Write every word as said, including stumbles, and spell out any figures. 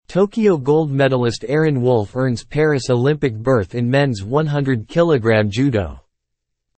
Tokyo gold medalist Aaron Wolf earns Paris Olympic berth in men's one hundred kilogram judo.